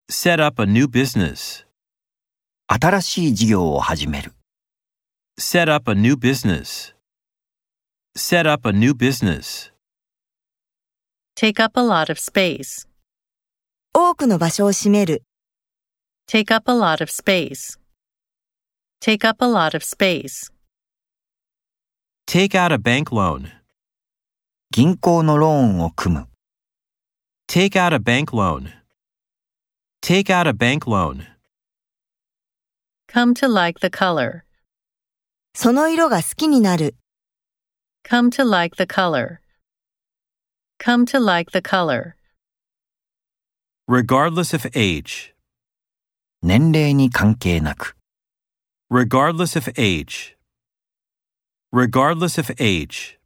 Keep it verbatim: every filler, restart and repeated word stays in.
Set up a new business. 新しい事業を始める。 Set up a new business. Set up a new business. Take up a lot of space. 多くの場所を占める。 Take up a lot of space. Take up a lot of space. Take out a bank loan. 銀行のローンを組む。 Take out a bank loan. Take out a bank loan. Come to like the color. その色が好きになる。 Come to like the color. Come to like the color. Regardless of age. 年齢に関係なく。 Regardless of age. Regardless of age.